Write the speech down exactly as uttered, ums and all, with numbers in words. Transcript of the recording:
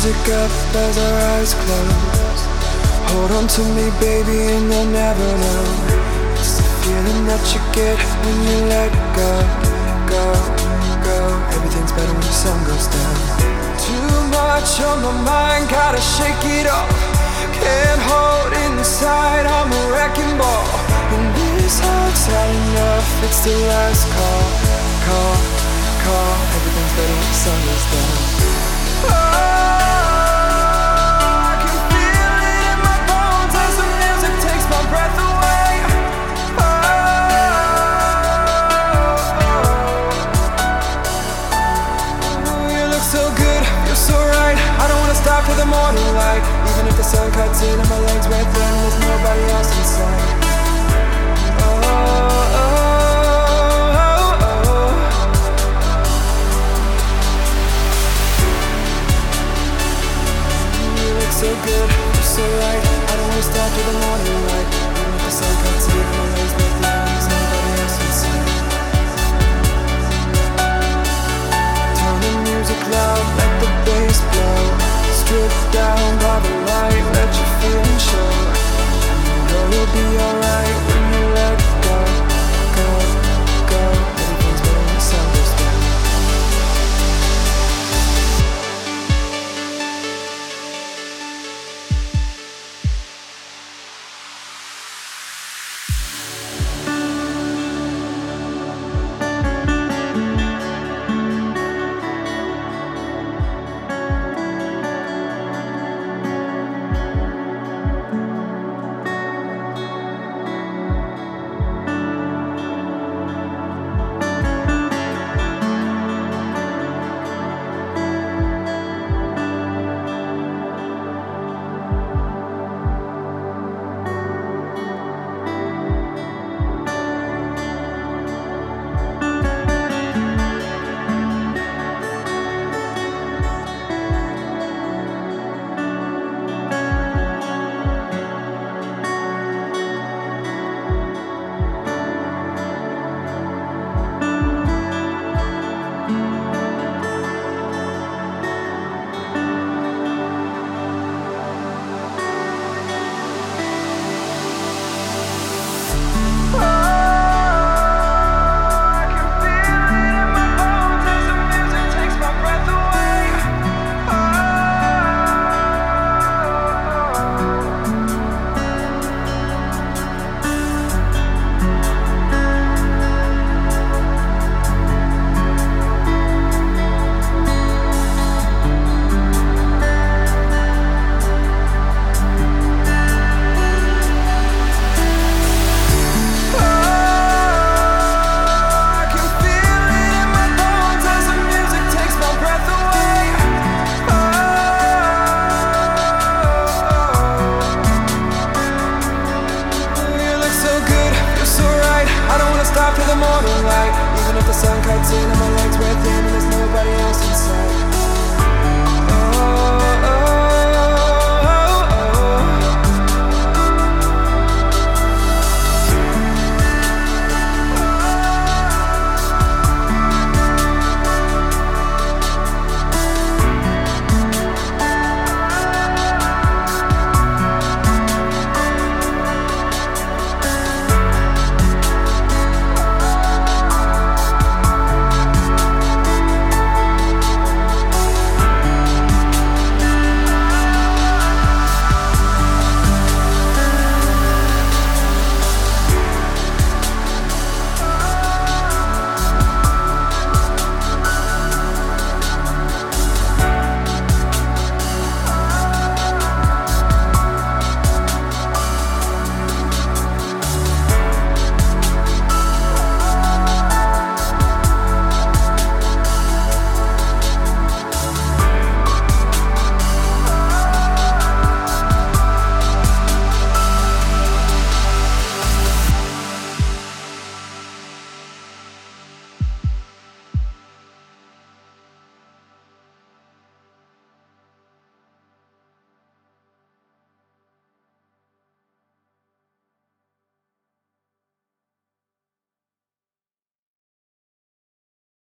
music up as our eyes close. Hold on to me, baby, and you'll never know. It's the feeling that you get when you let go, go, go. Everything's better when the sun goes down. Too much on my mind, gotta shake it off. Can't hold inside, I'm a wrecking ball. When this heart's had enough, it's the last call, call, call. Everything's better when the sun goes down. Oh, I can feel it in my bones as the music takes my breath away. Oh, you look so good, you're so right. I don't wanna stop till the morning light. Even if the sun cuts in and my legs right there and there's nobody else inside. Oh, oh, oh, oh. You look so good, you're so right. I don't wanna stop till the morning